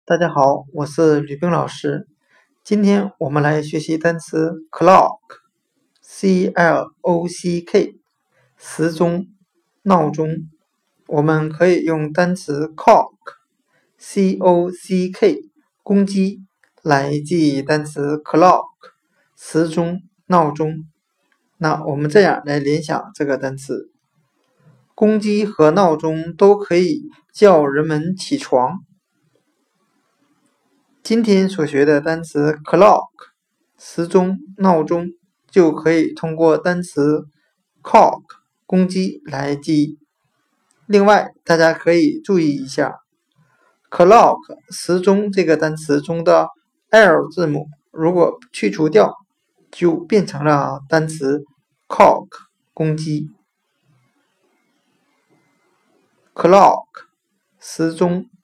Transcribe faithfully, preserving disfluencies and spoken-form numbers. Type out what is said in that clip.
大家好，我是吕冰老师。今天我们来学习单词 clock，C L O C K， 时钟、闹钟。我们可以用单词 cock，C O C K， 公鸡来记忆单词 clock， 时钟、闹钟。那我们这样来联想这个单词，公鸡和闹钟都可以叫人们起床。今天所学的单词 clock 时钟、闹钟就可以通过单词 cock 公鸡来记忆。另外大家可以注意一下 clock 时钟这个单词中的 L 字母如果去除掉，就变成了单词 cock 公鸡。 clock 时钟、